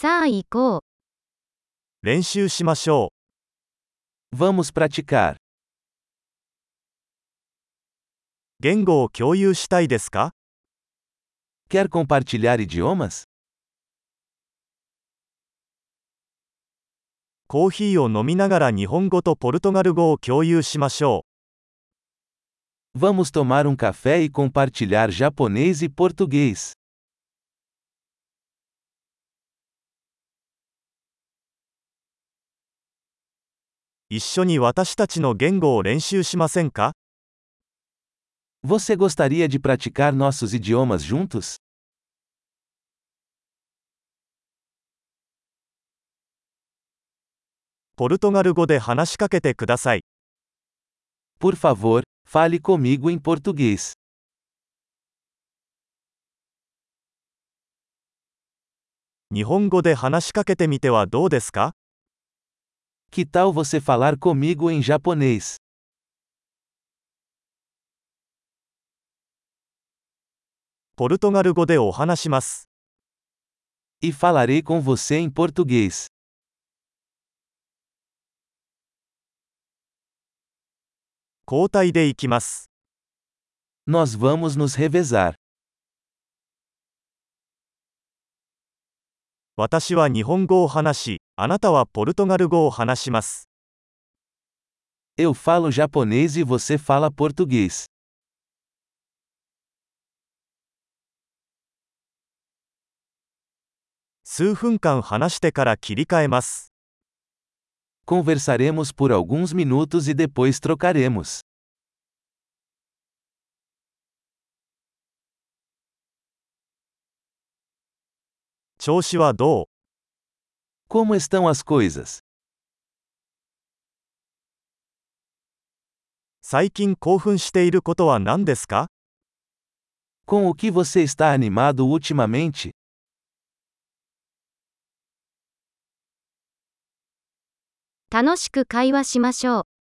さあ行こう。 練習しましょ Vamos praticar. う。言語を共有したいですか？ Quer compartilhar idiomas? コーヒーを飲みながら日本語とポルトガル語を共有しましょ Vamos tomar um café e compartilhar japonês e português. う。一緒に私たちの言語を練習しませんか？ Você gostaria de praticar nossos idiomas juntos? ポルトガル語で話しかけてください。 Por favor, fale comigo em português. 日本語で話しかけてみてはどうですか？ Que tal você falar comigo em japonês? ポルトガル語でお話します。 E falarei com você em português. 交代で行きます。 Nós vamos nos revezar. 私は日本語を話し、あなたはポルトガル語を話します。 Eu falo japonês e você fala português. 数分間話してから切り替えます。 Conversaremos por alguns minutos e depois trocaremos. 調子はどう？ Como estão as coisas? 最近興奮していることは何ですか？ Com o que você está animado ultimamente? 楽しく会話しましょう。